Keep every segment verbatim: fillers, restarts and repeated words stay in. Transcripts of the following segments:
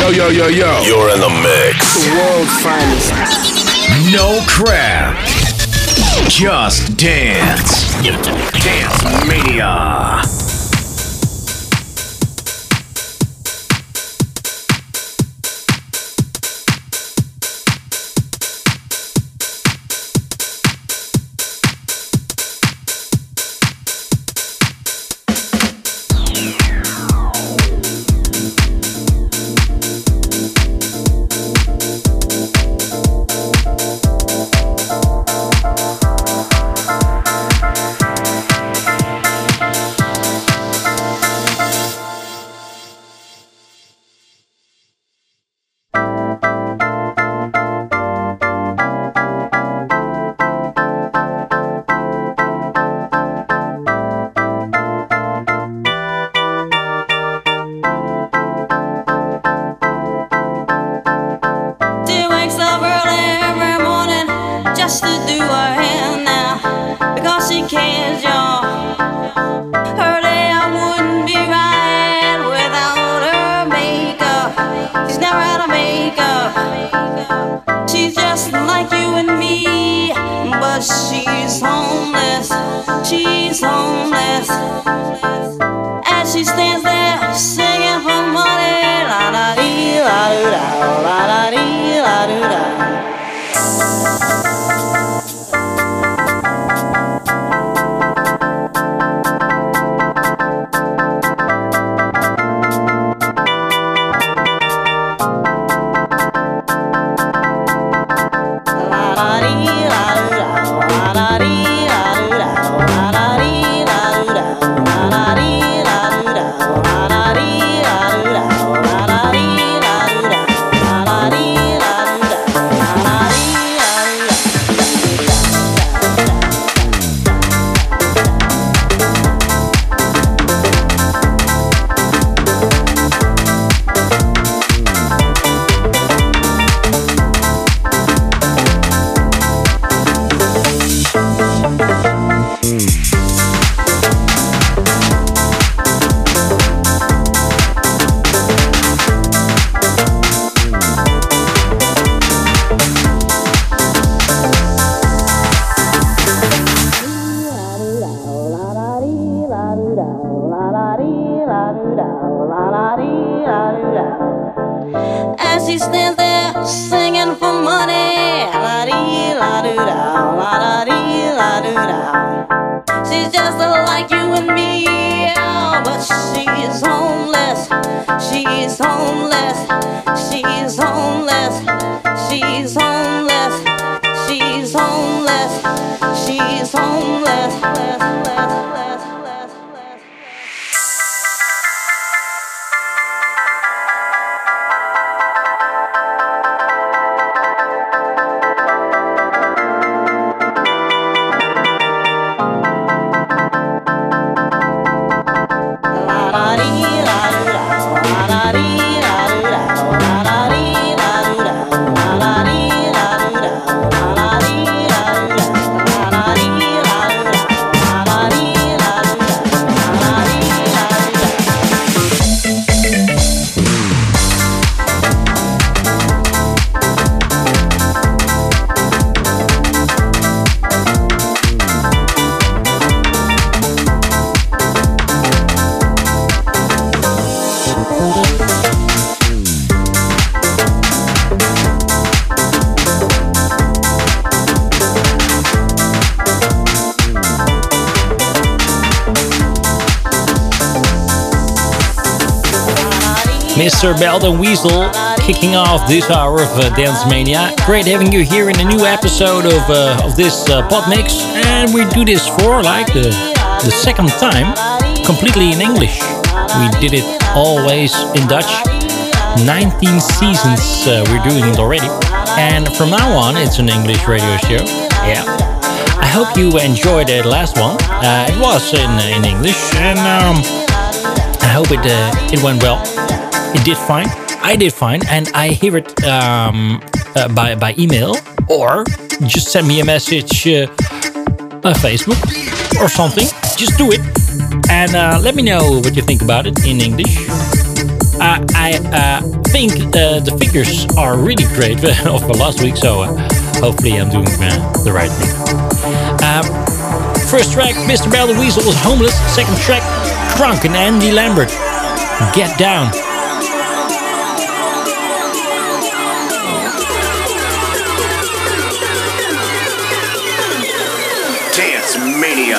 Yo, yo, yo, yo. You're in the mix. The world's finest. No crap. Just dance. Dance Mania. Mister Belden Weasel kicking off this hour of uh, Dance Mania. Great having you here in a new episode of uh, of this uh, pod mix, and we do this for like the the second time, completely in English. We did it always in Dutch. nineteen seasons uh, we're doing it already, and from now on it's an English radio show. Yeah, I hope you enjoyed the last one. Uh, it was in in English, and um, I hope it uh, it went well. It did fine. I did fine, and I hear it um, uh, by by email, or just send me a message uh, on Facebook or something. Just do it, and uh, let me know what you think about it in English. uh, I uh, think uh, the figures are really great for last week, so uh, hopefully I'm doing uh, the right thing. Uh, first track, Mister Bell the Weasel was Homeless. Second track, Crunk and Andy Lambert, Get Down. Dance Mania.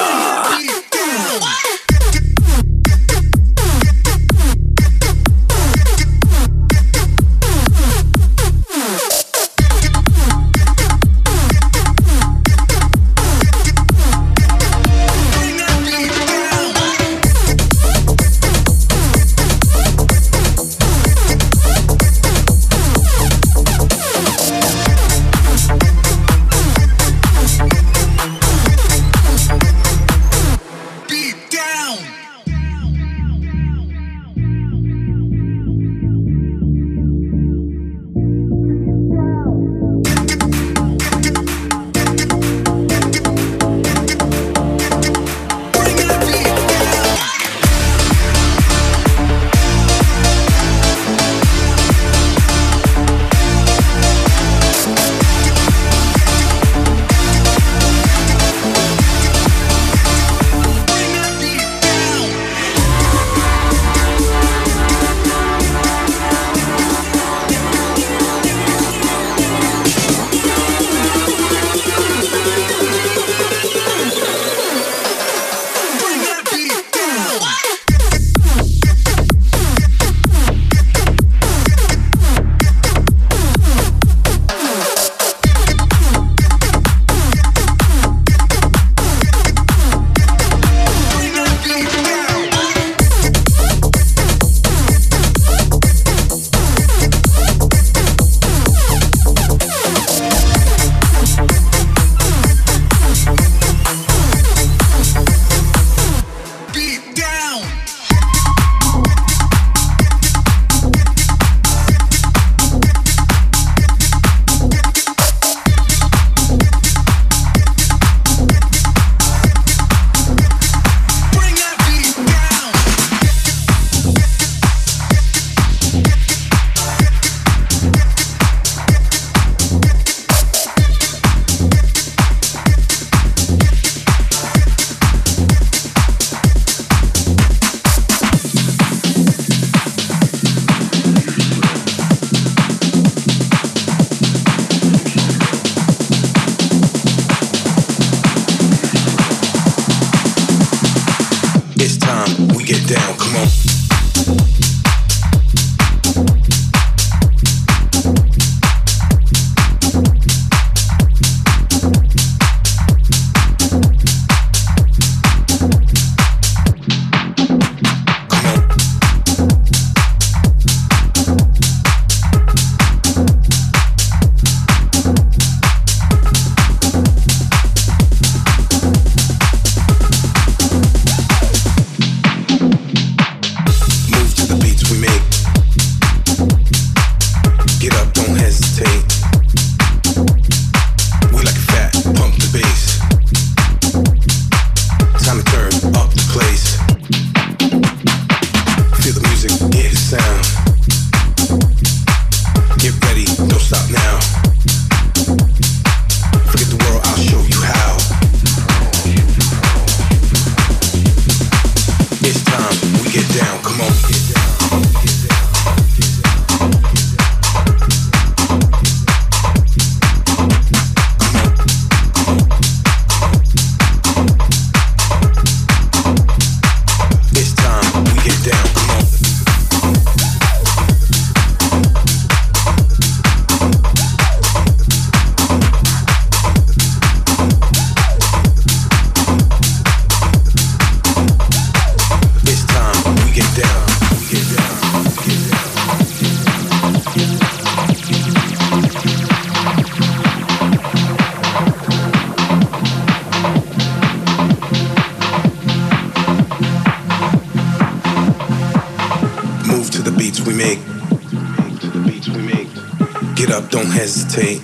hesitate.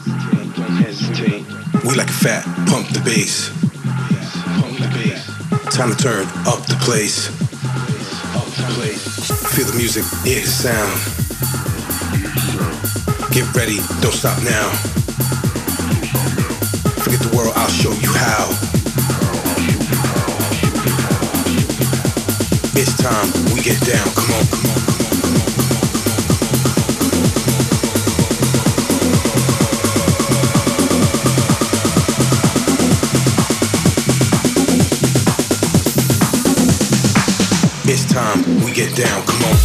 We like a fat, pump the bass. Time to turn up the place. Feel the music, hear the sound. Get ready, don't stop now. Forget the world, I'll show you how. It's time, we get down, come on, come on, come on, come on, come on. It's time, we get down, come on.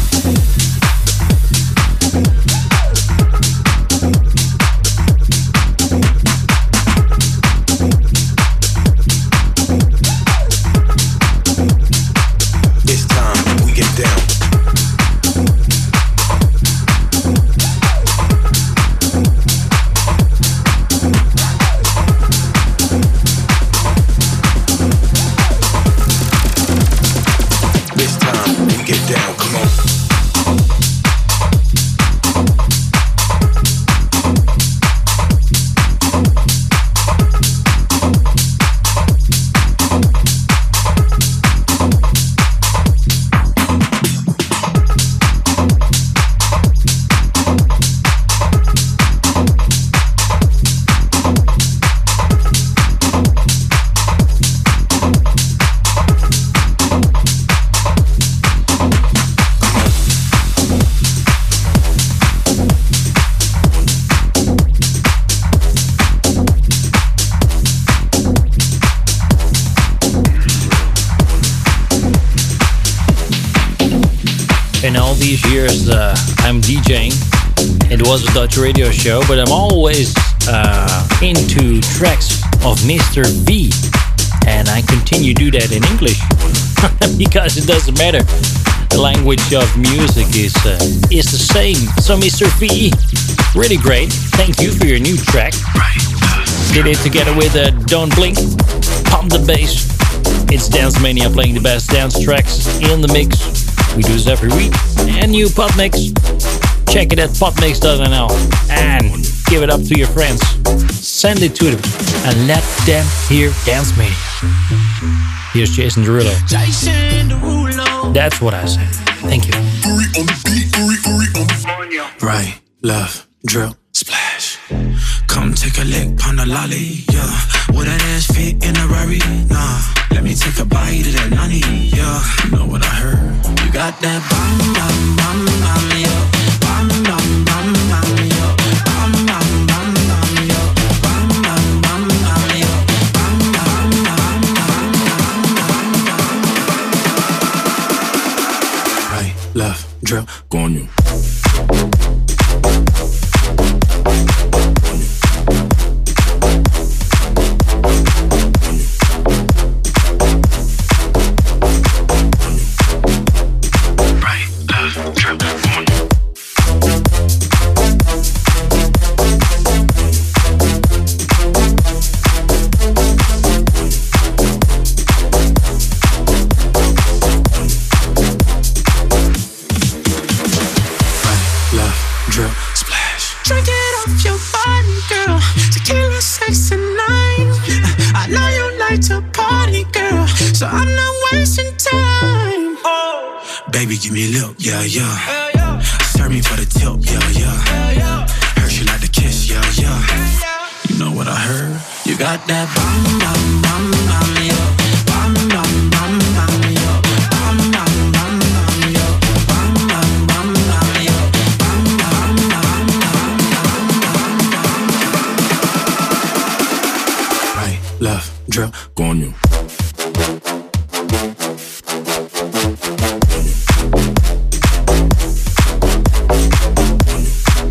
These years uh, I'm DJing. It was a Dutch radio show, but I'm always uh, into tracks of Mister V, and I continue to do that in English because it doesn't matter. The language of music is uh, is the same. So Mister V, really great. Thank you for your new track. Did it together with uh, Don't Blink, Pump the Bass. It's Dance Mania playing the best dance tracks in the mix. We do this every week. And new Podmix. Check it at podmix dot n l and give it up to your friends. Send it to them and let them hear Dance Mania. Here's Jason Derulo. That's what I said. Thank you. Right, left, drill, splash. Come take a lick on the lolly, yeah. Would that ass fit in a Rari? Nah. Let me take a bite of that nani, yeah. You know what I heard? You got that bam, bam, bam, bam, yeah. Bam, bam, bam, bam, yeah. Bam, bam, bam, bam, yeah. Bam, bam, bam, bam, yeah. Bam, bam, bam, bam, bam. Right, left, drill, go on you. Give me a look, yeah, yeah. Serve me for the tip, yeah, yeah. Heard you like to kiss, yeah, yeah. You know what I heard? You got that bam, bam, bam, bam, yeah. Bam, bam, bam, bam, yeah. Bam, bam, bam, bam, yeah. Bam, bam, bam, bam, yeah. Bam, bam, bam, bam, bam. Right, left, drill, go on you.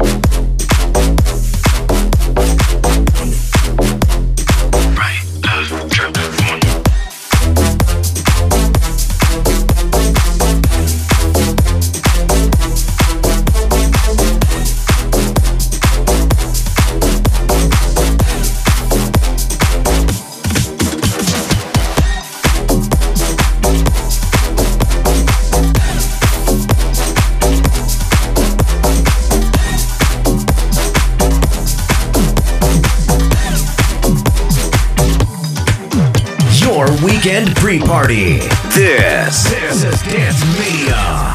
Right, left, weekend pre-party. This, this is Dance Mania.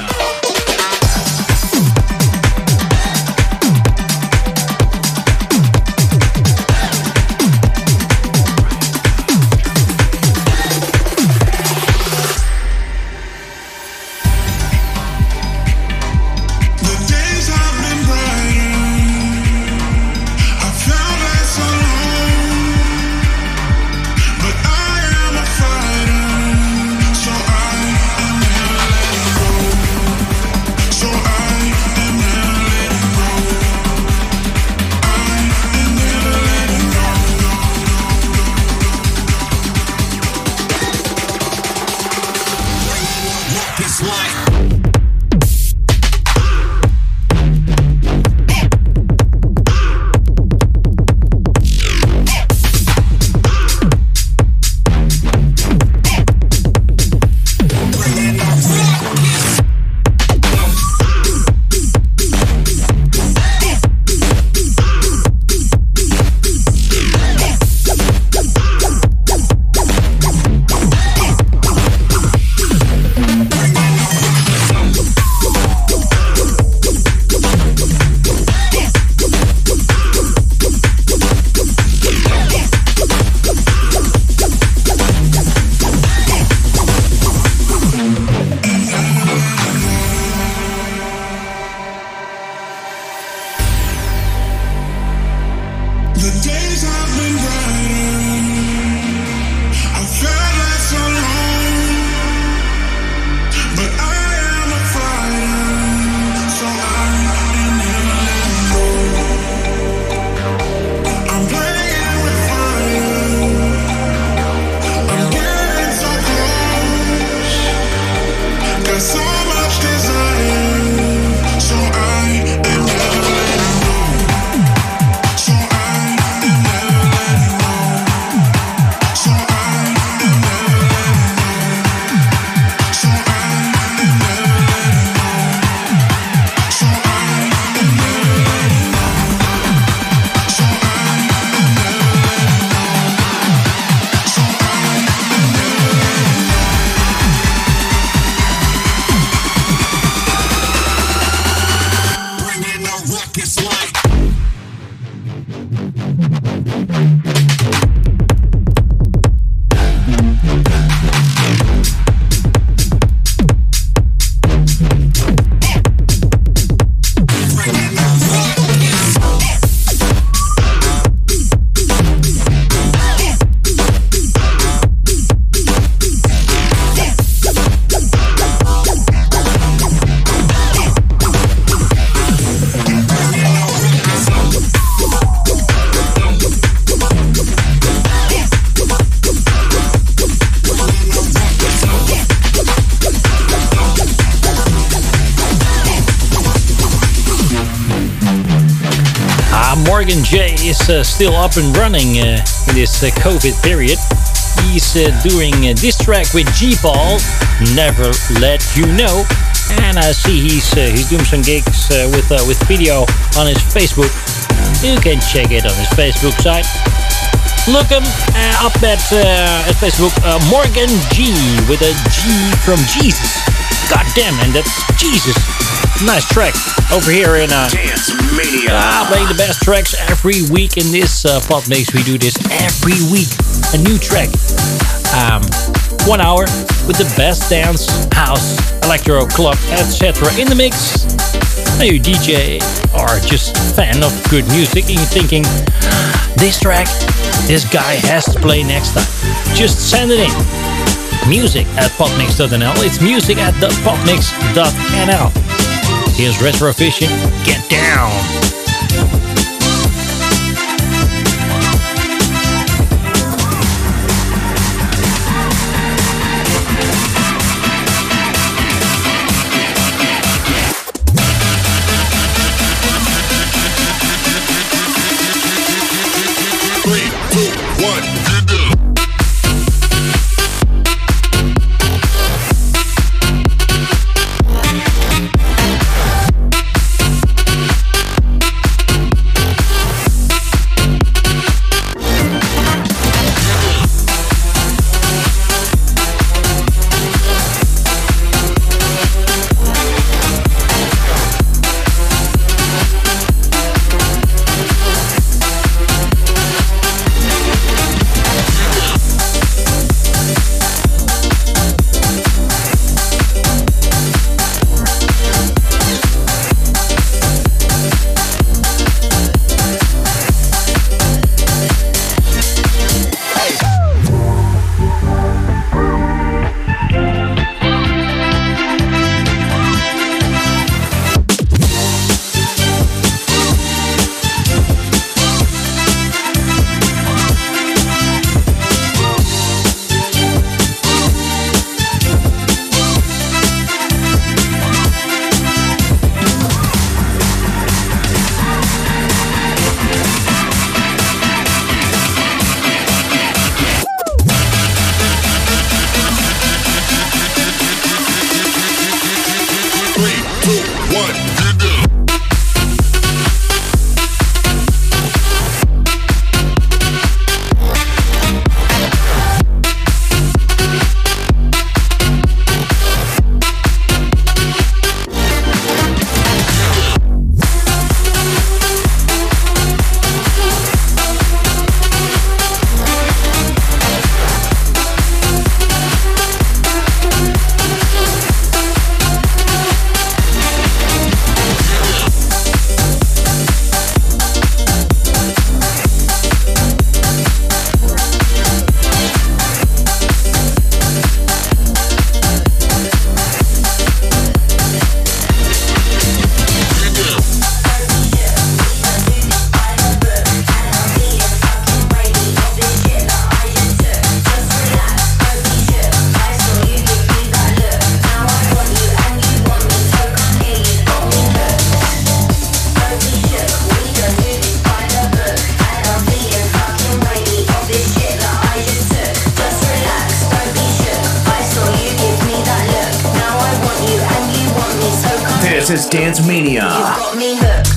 Morgan J is uh, still up and running uh, in this uh, COVID period. He's uh, doing uh, this track with G-Paul, Never Let You Know. And I see he's uh, he's doing some gigs uh, with uh, with video on his Facebook. You can check it on his Facebook site. Look him uh, up at, uh, at Facebook, uh, Morgan G with a G from Jesus. God damn, and that's Jesus. Nice track over here in uh, Dance Mania. Uh, playing the best tracks every week in this uh, Pod Mix. We do this every week. A new track. Um, one hour with the best dance, house, electro, club, et cetera in the mix. Now you D J or just fan of good music and you're thinking, this track, this guy has to play next time. Just send it in. Music at podmix dot n l. It's music at podmix dot n l. Here's Retrovision. Get down. Three, two, one, get down. This is Dance Mania. You got me hooked.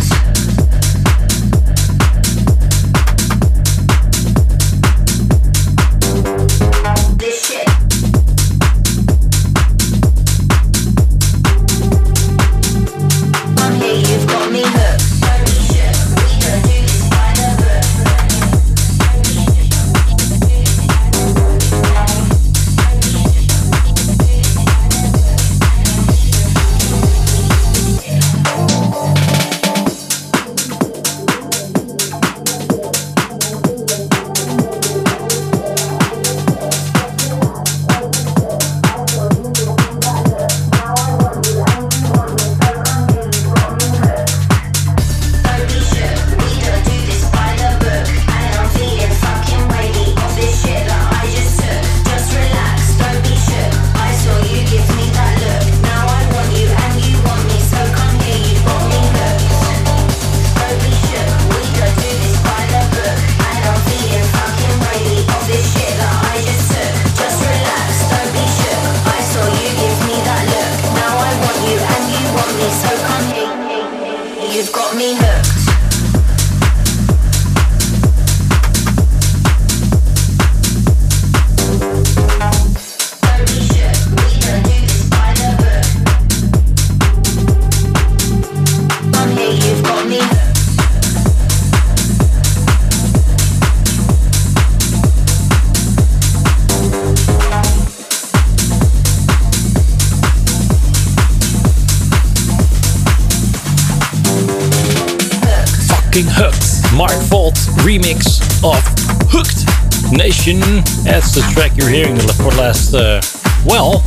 Hooked, Mark Volt remix of Hooked Nation. That's the track you're hearing for the last, uh, well,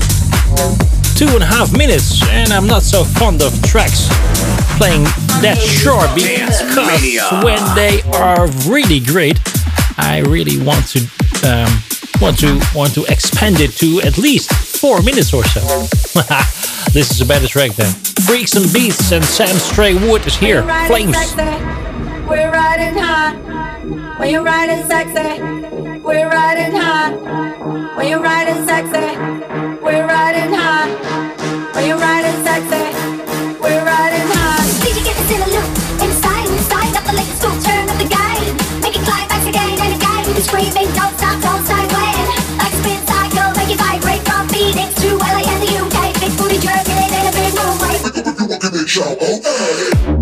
two and a half minutes. And I'm not so fond of tracks playing that short because when they are really great, I really want to um, want to want to expand it to at least four minutes or so. This is a better track then. Freaks and Beats and Sam Stray Wood is here. Flames. We're riding high when you're riding sexy. We're riding high when you're riding sexy. We're riding high when you're riding sexy. We're riding high. Did you get this in a loop? Inside, inside up the latest school, turn up the gain. Make it climax again and again. We'll be screaming, don't stop, don't start playing. Like a spin cycle, make it vibrate from Phoenix to L A and the U K. Big booty jerking in a big room. Like Give me a shout, okay.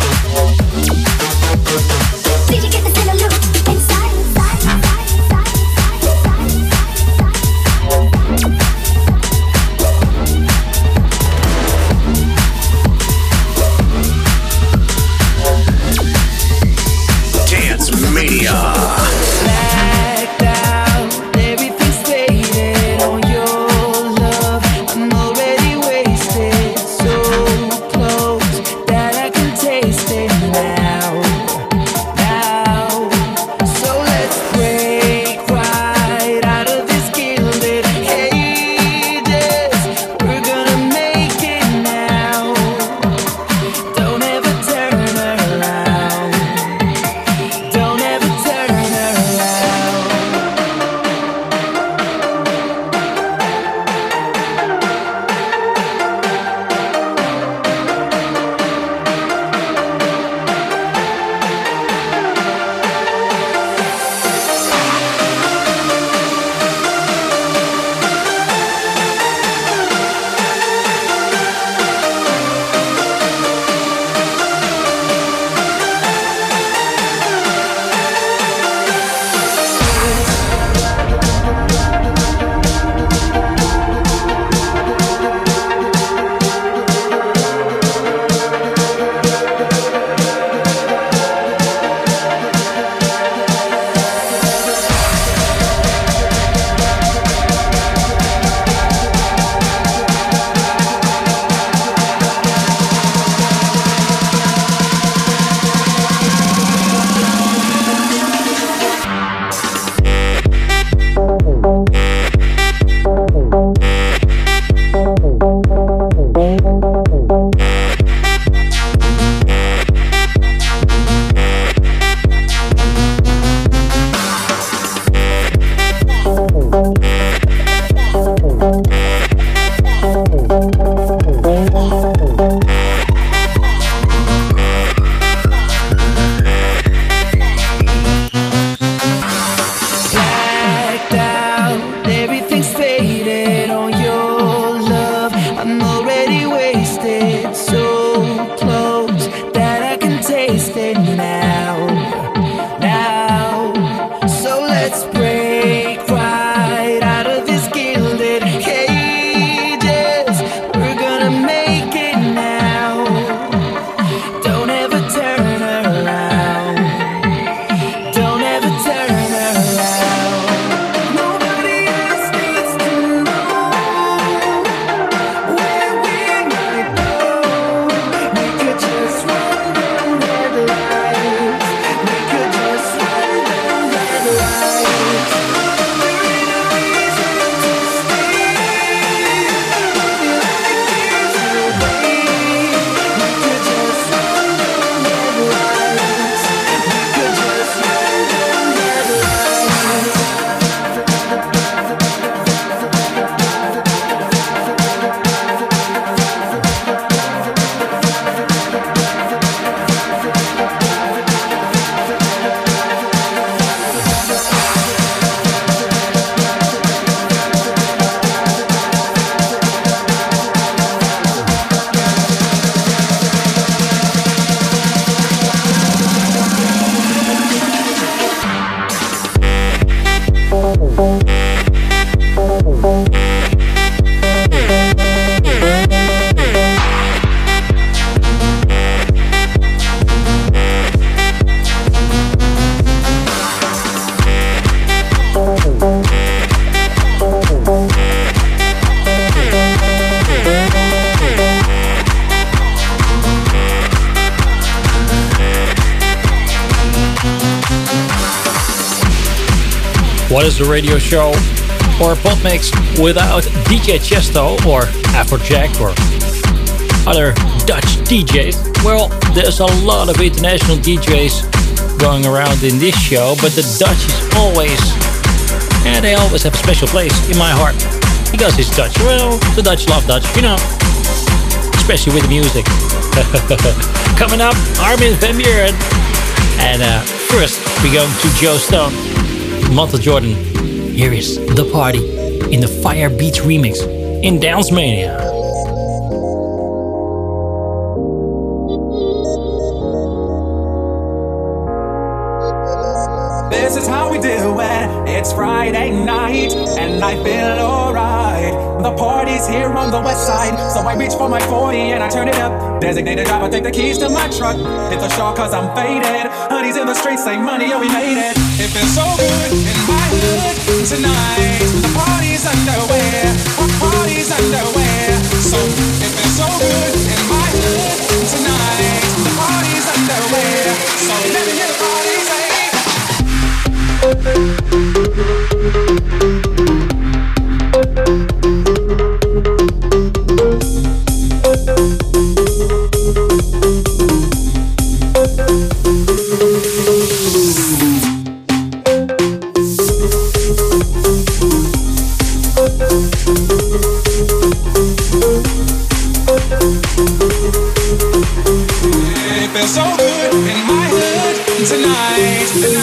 Did you get this in a loop? Inside, inside, inside, inside, inside. What is a radio show or a pod mix without D J Chesto or Afrojack or other Dutch D Js? Well, there's a lot of international D Js going around in this show, but the Dutch is always, and they always have a special place in my heart because it's Dutch. Well, the Dutch love Dutch, you know, especially with the music. Coming up, Armin van Buuren. And uh, first, we're going to Joe Stone, Montel Jordan. Here is The Party in the Fire Beats remix in Dance Mania. This is how we do it. It's Friday night and I feel alright. The party's here on the west side, so I reach for my forty and I turn it up. Designated driver, take the keys to my truck. Hit the shore cause I'm faded. Honey's in the streets, say money, yeah we made it. It feels so good in my hood tonight. The party's underway, party's underway. So it feels so good in my hood tonight. The party's underway, so let me hear the party say. It feels so good in my hood tonight.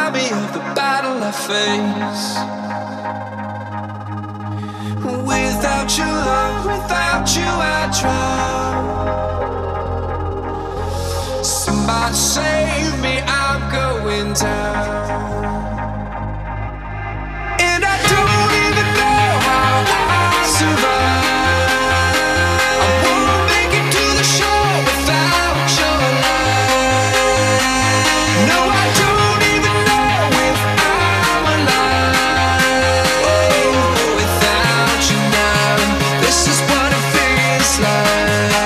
remind me of the battle I face. Without your love, without you I drown. Somebody save me, I'm going down. And I don't even know how I survive. I won't make it to the shore without your love. No, I don't even know if I'm alive. Oh, without you now, this is what it feels like.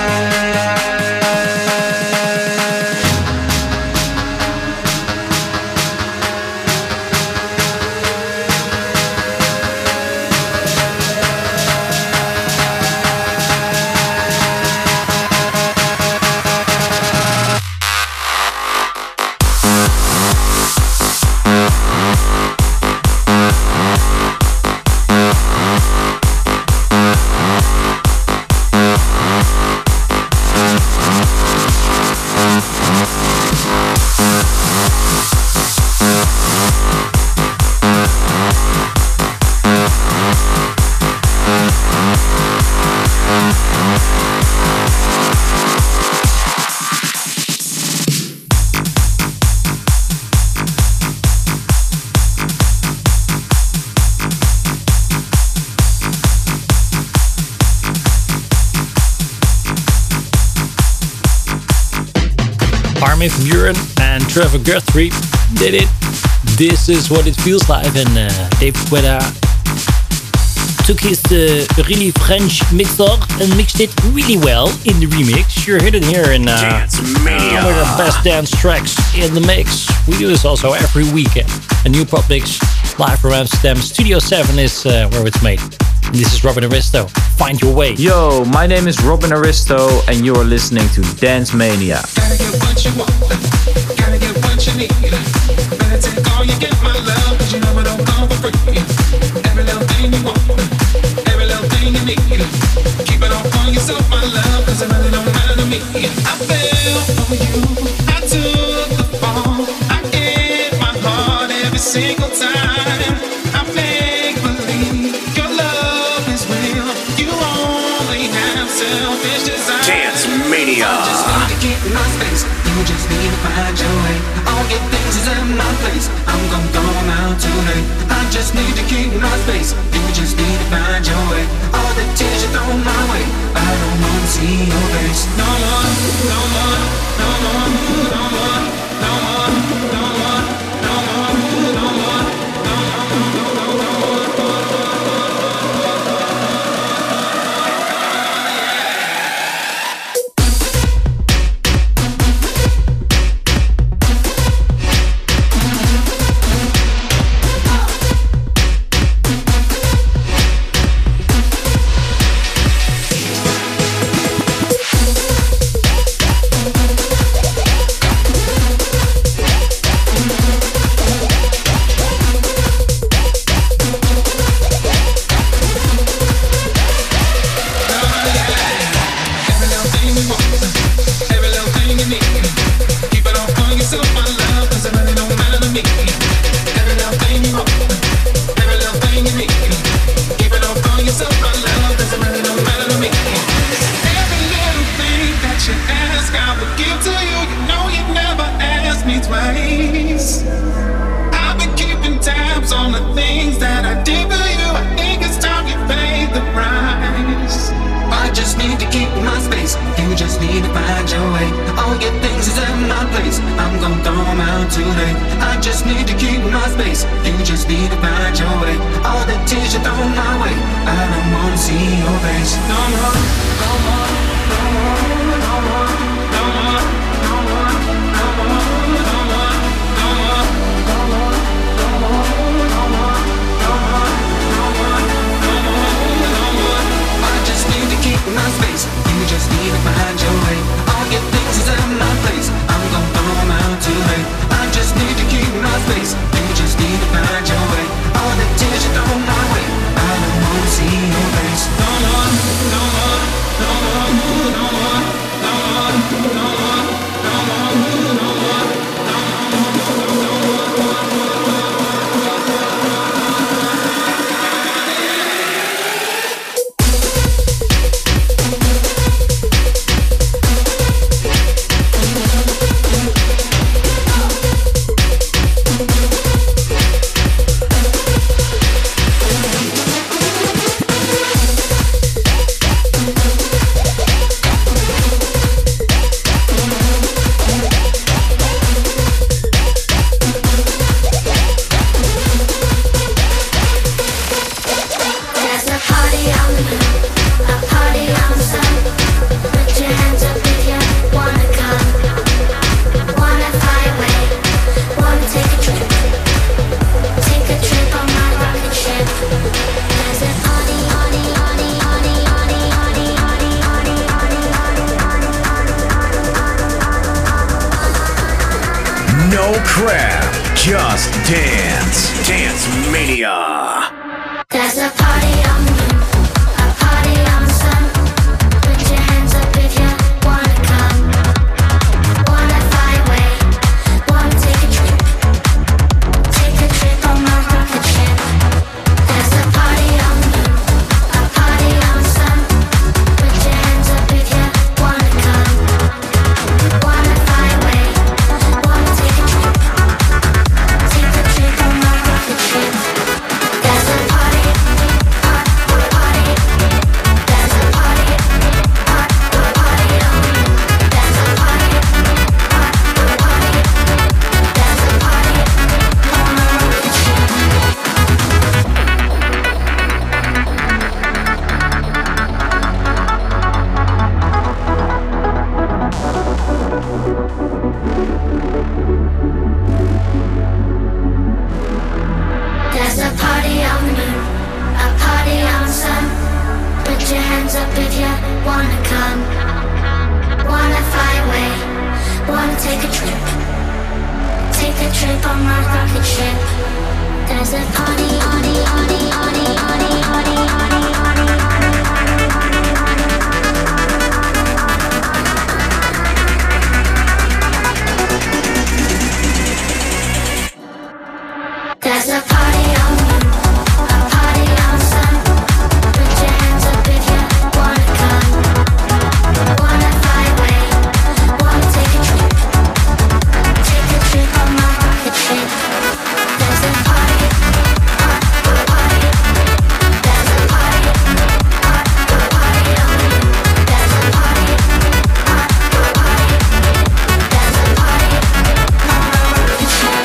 Armin van Buuren and Trevor Guthrie did it. This is what it feels like. And uh, Dave Guetta took his uh, really French mixer and mixed it really well in the remix. You're hearing it here in uh, Dance Mania. one of the best dance tracks in the mix. We do this also every weekend. A new pop mix live from Amsterdam. Studio seven is uh, where it's made. And this is Robin Aristo. Find your way. Yo, my name is Robin Aristo, and you are listening to Dance Mania. Gotta get what you want, gotta get what you need. Better take all you get, my love, cause you know it don't come for free. Every little thing you want, every little thing you need. Keep it all for yourself, my love, cause it really don't matter to me. I fell for you, I took the fall. I gave my heart every single time. I make believe your love is real. You only have selfish desire. Dance Mania. I just need to keep my space. You just need to find your way. All your things is in my place. I'm gonna throw them out tonight. I just need to keep my space. You just need to find your way. All the tears you throw my way, I don't wanna see your face. No more, no more, no more, no more, no more, no more, no more, no more. No more, no more, no more. Just dance. Dance Mania. There's a party on the moon, a party on the sun. Put your hands up if you wanna come. Wanna fly away, wanna take a trip. Take a trip on my rocket ship. There's a party on the moon, a party on the sun. Put your hands up if you wanna come. Wanna fly away, wanna take a trip. Take a trip on my rocket ship. There's a party, party, party. There's a party, party, party on the moon. There's a party, party, party. There's a party on my rocket ship. There's a party on the moon, a party on the sun. Put your hands up if you wanna come. Wanna fly away, wanna take a trip. Take a trip on my rocket ship. There's a party, party, party, party, party, party, party, party, There's a party on the moon, a party on the sun. Put your hands up if you wanna come. Wanna fly away, wanna take a trip. Take a trip on my rocket ship. There's a party, party, party. There's a party, party, party on the moon. There's a party, party, party. There's a party on my rocket ship.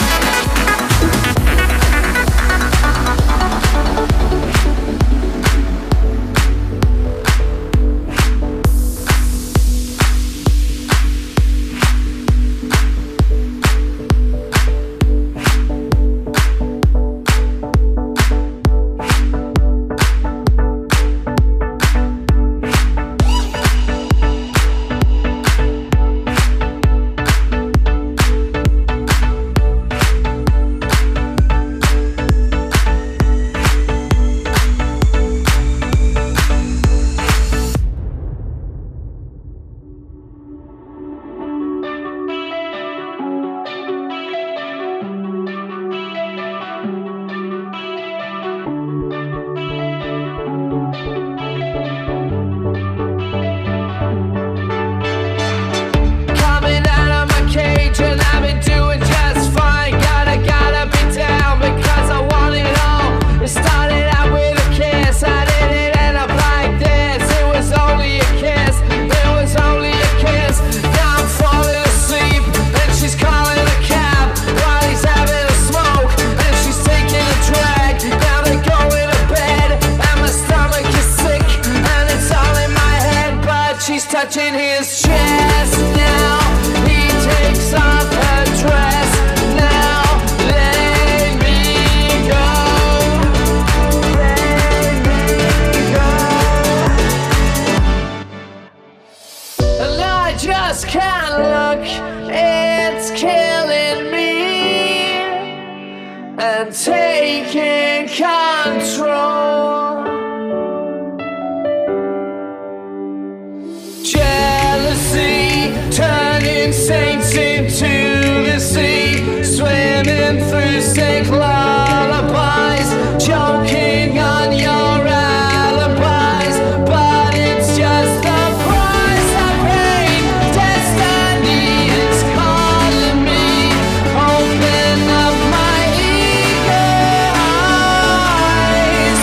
Coming out of my cage and I've been doing just fine. Gotta, gotta be down because I want it all. It started out with a kiss, I didn't end up like this. It was only a kiss, it was only a kiss. Now I'm falling asleep and she's calling a cab while he's having a smoke and she's taking a drag. Now they're going to bed and my stomach is sick and it's all in my head, but she's touching his chest now. He takes off her dress now. Let me go. Let me go. And I just can't look. It's killing me and taking control. Jealousy turning saints into the sea, swimming through sick lullabies, choking on your alibis. But it's just the price I pay. Destiny is calling me. Open up my eager eyes.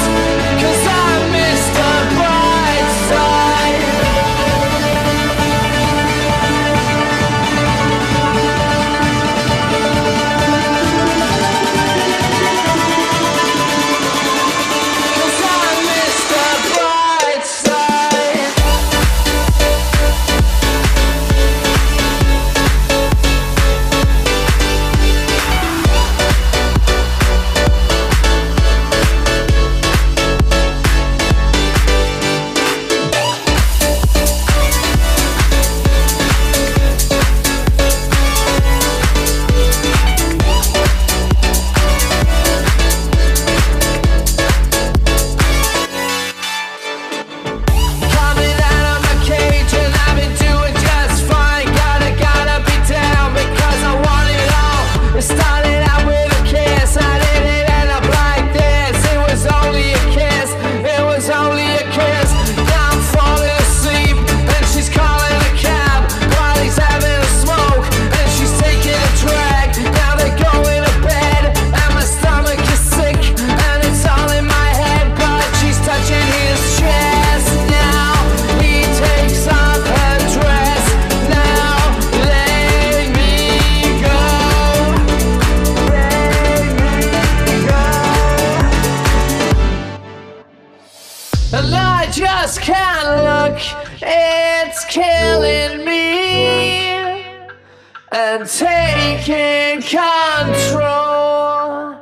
and I just can't look. It's killing me and taking control.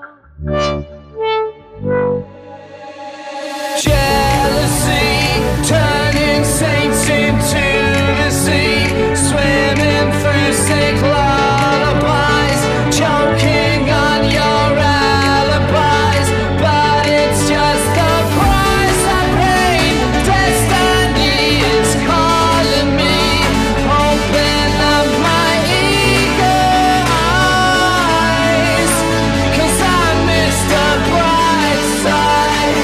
Jealousy turning saints into the sea, swimming through sick lullabies, choking on your alibis, but it's just the price I pay. Destiny is calling me, open up my eager eyes, 'cause I miss the bright side.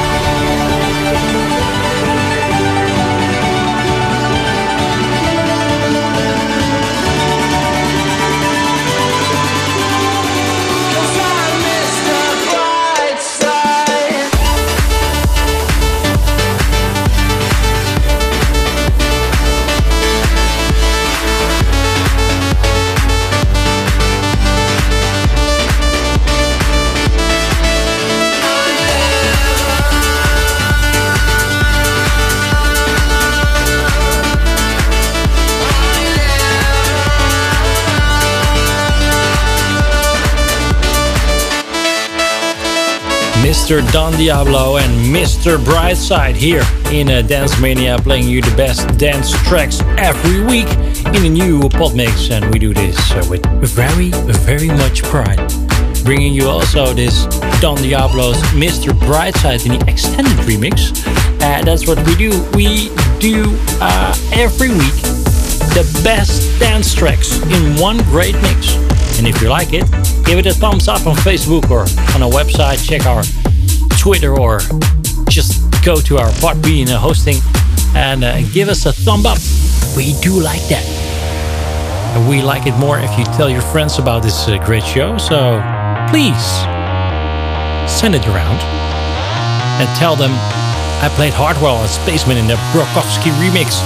Mister Don Diablo and Mister Brightside here in uh, Dance Mania, playing you the best dance tracks every week in a new pod mix, and we do this uh, with very, very much pride. Bringing you also this Don Diablo's Mister Brightside in the extended remix. Uh, that's what we do. We do uh, every week the best dance tracks in one great mix. And if you like it, give it a thumbs up on Facebook or on our website. Check our Twitter or just go to our Podbean hosting and uh, give us a thumb up. We do like that. And we like it more if you tell your friends about this uh, great show. So please send it around and tell them I played Hardwell and Spaceman in the Brokowski remix.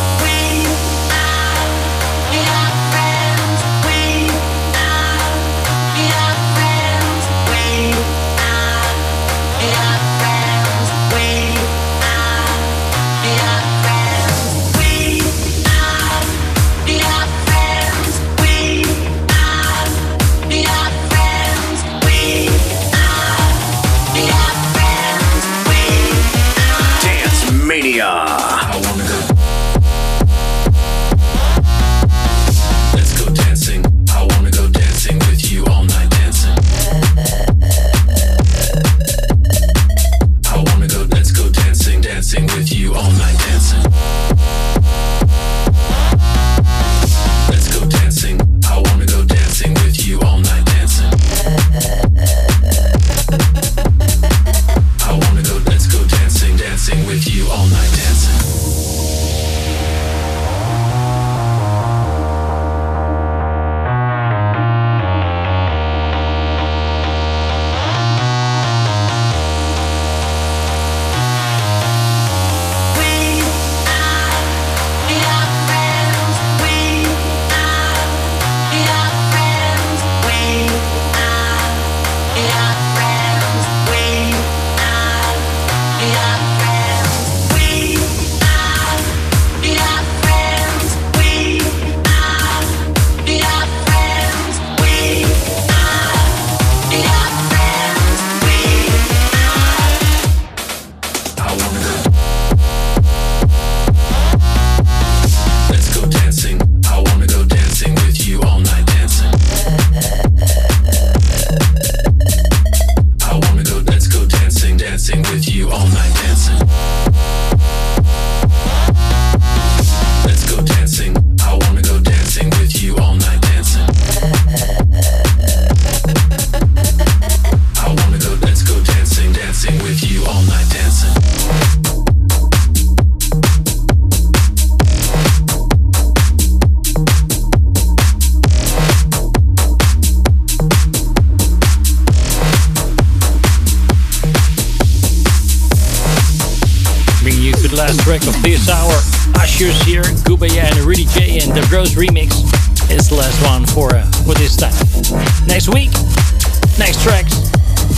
Last track of this hour, Usher's here, Gubaya and Rudy J, and the Bros remix is the last one for uh, for this time. Next week, next tracks,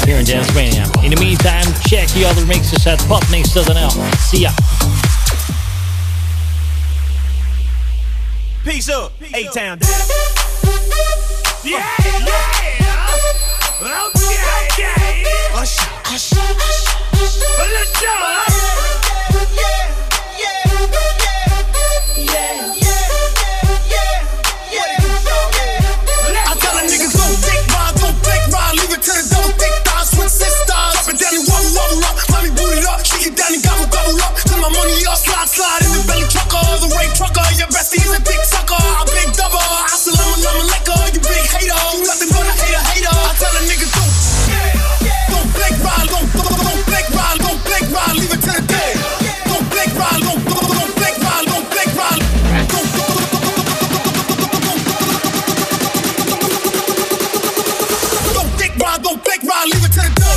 here in Dance Mania. In the meantime, check the other mixes at podmix dot n l. See ya. Peace up, A-Town. Yeah, yeah. Okay, okay. Hush, hush, hush, hush. Let's go. Yeah, yeah, yeah, yeah, yeah, yeah. I tell a nigga go thick ride, go thick ride, leave it to the double thick thighs, switch sisters. Up and down and wobble, wobble up, mommy boot it up, shake it down and gobble, gobble up. Till my money up, slide, slide in the belly trucker, the rape trucker. Your bestie's a dick sucker, a big double. I still I'm a lemon liquor, you big hater. You nothing but a hater, hater. I tell a nigga go, don't black ride, don't, don't, don't black ride, don't black ride, leave it to the day. Don't black ride, don't, don't, don't black ride, don't black ride. Don't, don't dick ride, don't black ride, leave it to the day.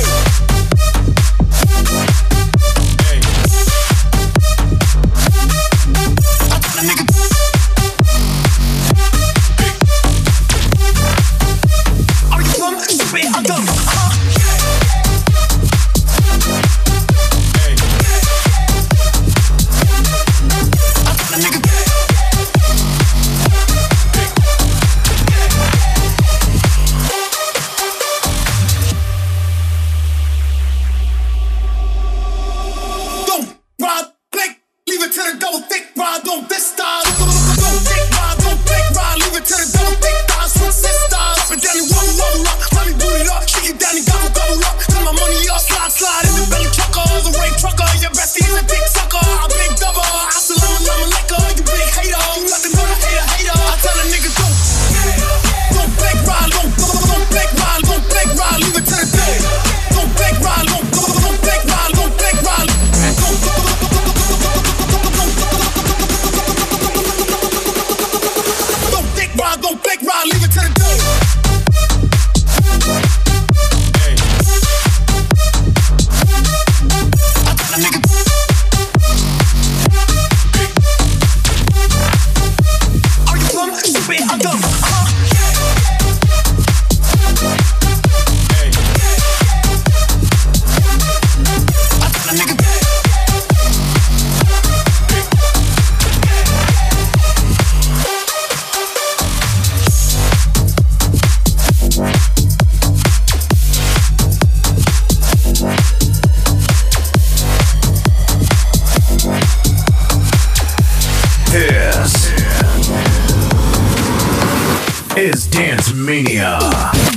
Is Dance Mania.